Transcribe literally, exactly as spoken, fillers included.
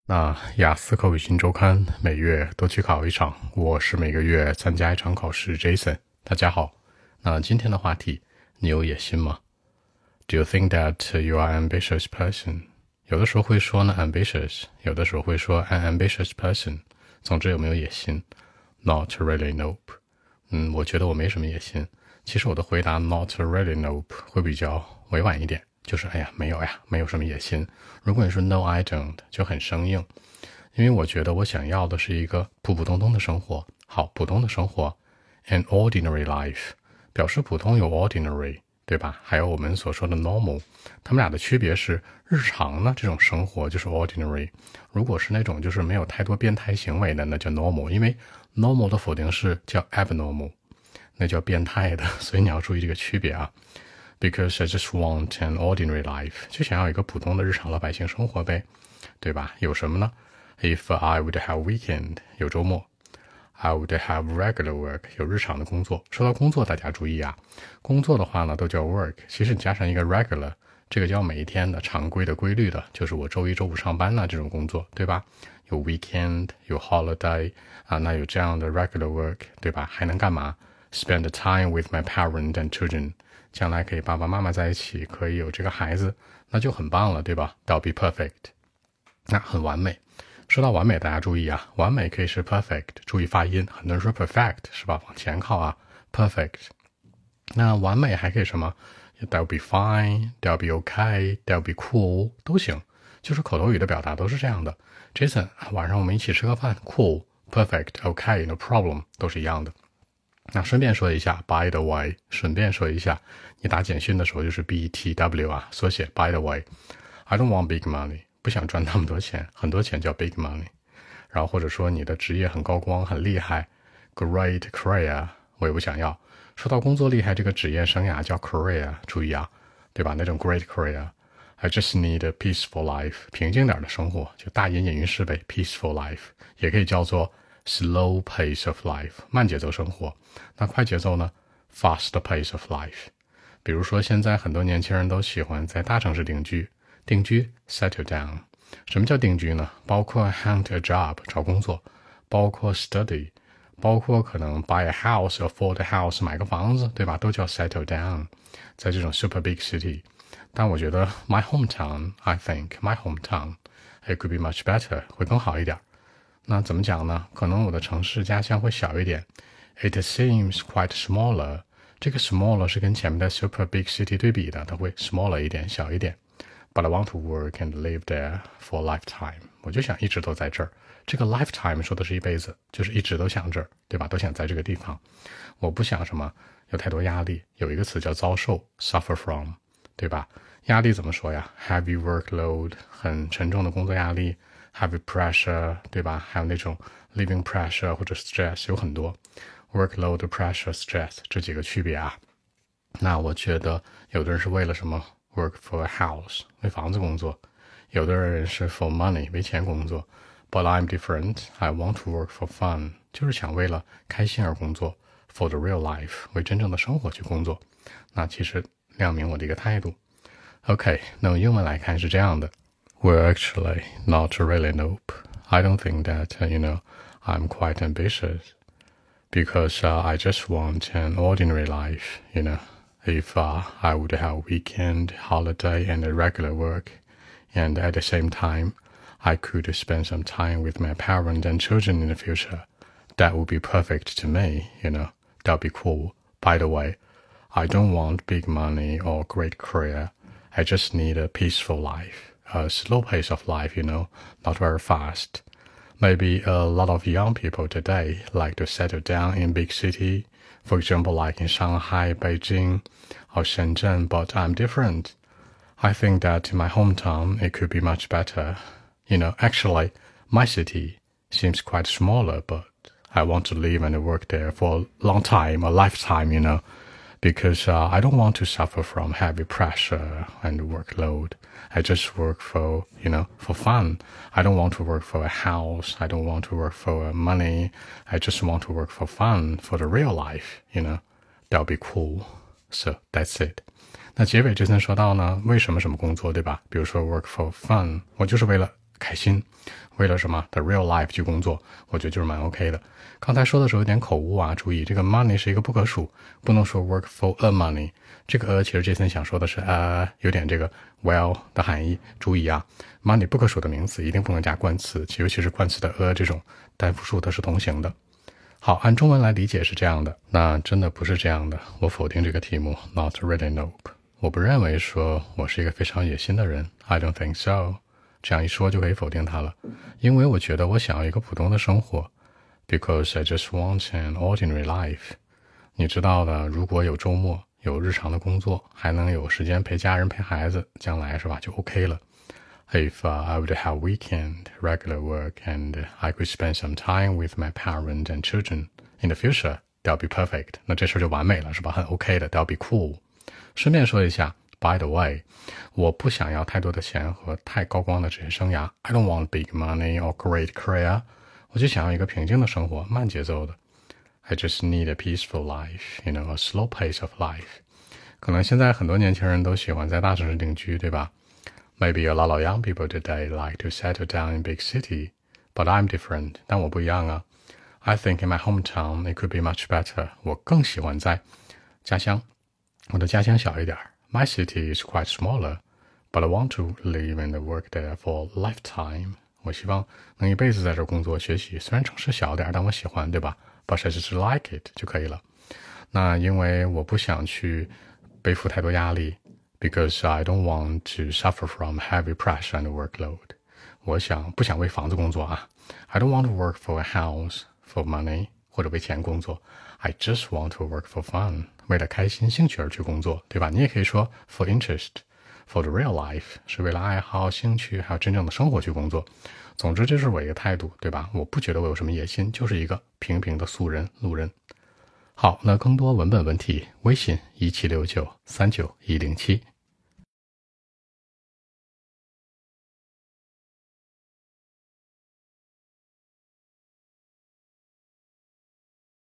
那雅思口语新周刊每月都去考一场，我是每个月参加一场考试 Jason。 大家好，那今天的话题，你有野心吗？ Do you think that you are an ambitious person? 有的时候会说呢 ambitious， 有的时候会说 an ambitious person。 总之有没有野心？ Not really, nope。 嗯，我觉得我没什么野心。其实我的回答 not really, nope 会比较委婉一点，就是哎呀没有呀，没有什么野心。如果你说 no I don't 就很生硬，因为我觉得我想要的是一个普普通通的生活。好，普通的生活 an ordinary life， 表示普通有 ordinary， 对吧？还有我们所说的 normal， 他们俩的区别是日常呢这种生活就是 ordinary， 如果是那种就是没有太多变态行为的那叫 normal， 因为 normal 的否定式叫 abnormal， 那叫变态的，所以你要注意这个区别啊。Because I just want an ordinary life， 就想要一个普通的日常老百姓生活呗，对吧？有什么呢？ If I would have weekend， 有周末。 I would have regular work， 有日常的工作。说到工作大家注意啊，工作的话呢都叫 work， 其实你加上一个 regular， 这个叫每一天的常规的规律的，就是我周一周五上班呢这种工作，对吧？有 weekend， 有 holiday 啊，那有这样的 regular work， 对吧？还能干嘛？ Spend time with my parents and children，将来可以爸爸妈妈在一起，可以有这个孩子，那就很棒了，对吧？ That'll be perfect， 那很完美。说到完美，大家注意啊，完美可以是 perfect， 注意发音，很多人说 perfect 是吧？往前靠啊 perfect。 那完美还可以什么？ That'll be fine， That'll be okay， That'll be cool 都行，就是口头语的表达都是这样的。 Jason， 晚上我们一起吃个饭， cool perfect okay no problem 都是一样的。那顺便说一下 by the way， 顺便说一下，你打简讯的时候就是 B T W 啊，缩写 by the way。 I don't want big money， 不想赚那么多钱，很多钱叫 big money。 然后或者说你的职业很高光很厉害 great career， 我也不想要。说到工作厉害，这个职业生涯叫 career， 注意啊，对吧？那种 great career。 I just need a peaceful life， 平静点的生活，就大隐隐于市呗， peaceful life 也可以叫做slow pace of life， 慢节奏生活。那快节奏呢 fast pace of life。 比如说现在很多年轻人都喜欢在大城市定居，定居 settle down。 什么叫定居呢？包括 hunt a job 找工作，包括 study， 包括可能 buy a house afford a house 买个房子，对吧？都叫 settle down， 在这种 super big city。 但我觉得 my hometown I think my hometown it could be much better 会更好一点。那怎么讲呢？可能我的城市家乡会小一点 It seems quite smaller， 这个 smaller 是跟前面的 super big city 对比的，它会 smaller 一点，小一点。 But I want to work and live there for a lifetime， 我就想一直都在这儿。这个 lifetime 说的是一辈子，就是一直都想这儿，对吧？都想在这个地方。我不想什么有太多压力，有一个词叫遭受 suffer from， 对吧？压力怎么说呀？ Heavy workload， 很沉重的工作压力，heavy pressure， 对吧？还有那种 living pressure 或者 stress， 有很多 workload pressure stress 这几个区别啊。那我觉得有的人是为了什么 work for a house 为房子工作，有的人是 for money 为钱工作。 But I'm different， I want to work for fun， 就是想为了开心而工作， for the real life 为真正的生活去工作。那其实亮明我的一个态度。 OK， 那用英文来看是这样的。Well, actually, not really, nope. I don't think that, uh, you know, I'm quite ambitious. Because uh, I just want an ordinary life, you know. If uh, I would have weekend, holiday, and a regular work, and at the same time, I could spend some time with my parents and children in the future, that would be perfect to me, you know. That would be cool. By the way, I don't want big money or great career. I just need a peaceful life. A slow pace of life, you know, not very fast. Maybe a lot of young people today like to settle down in big city, for example, like in Shanghai, Beijing, or Shenzhen, but I'm different. I think that in my hometown, it could be much better. You know, actually, my city seems quite smaller, but I want to live and work there for a long time, a lifetime, you know. Because uh, I don't want to suffer from heavy pressure and workload. I just work for, you know, for fun. I don't want to work for a house. I don't want to work for money. I just want to work for fun, for the real life, you know. That'll be cool. So that's it. 那结尾之前说到呢，为什么什么工作，对吧？比如说 work for fun， 我就是为了开心，为了什么 the real life 去工作，我觉得就是蛮 OK 的。刚才说的时候有点口误啊，注意这个 money 是一个不可数，不能说 work for a money。这个 a 其实 Jason 想说的是呃有点这个 well 的含义。注意啊 ，money 不可数的名词一定不能加冠词，尤其是冠词的 a 这种单复数它是同形的。好，按中文来理解是这样的，那真的不是这样的，我否定这个题目 ，not really nope。我不认为说我是一个非常野心的人 ，I don't think so。这样一说就可以否定它了，因为我觉得我想要一个普通的生活 ，because I just want an ordinary life。你知道的，如果有周末，有日常的工作，还能有时间陪家人、陪孩子，将来是吧就 OK 了。If uh, I would have weekend, regular work, and I could spend some time with my parents and children in the future, that'll be perfect. 那这事就完美了，是吧？很 OK 的 ，that'll be cool。顺便说一下 ，by the way， 我不想要太多的钱和太高光的职业生涯。I don't want big money or great career。我就想要一个平静的生活，慢节奏的。I just need a peaceful life, you know, a slow pace of life。可能现在很多年轻人都喜欢在大城市定居，对吧？Maybe a lot of young people today like to settle down in big city, but I'm different. 但我不一样啊。I think in my hometown it could be much better. 我更喜欢在家乡。我的家乡小一点。My city is quite smaller, but I want to live and work there for a lifetime. 我希望能一辈子在这工作学习。虽然城市小点，但我喜欢，对吧？ But I just like it 就可以了。那因为我不想去背负太多压力。Because I don't want to suffer from heavy pressure and workload. 我想不想为房子工作啊 I don't want to work for a house, for money, 或者为钱工作 I just want to work for fun. 为了开心兴趣而去工作，对吧？你也可以说 for interest, for the real life, 是为了爱好、兴趣还有真正的生活去工作。总之这是我一个态度，对吧？我不觉得我有什么野心，就是一个平平的素人路人。好，那更多文本问题，微信一七六九三九一零七。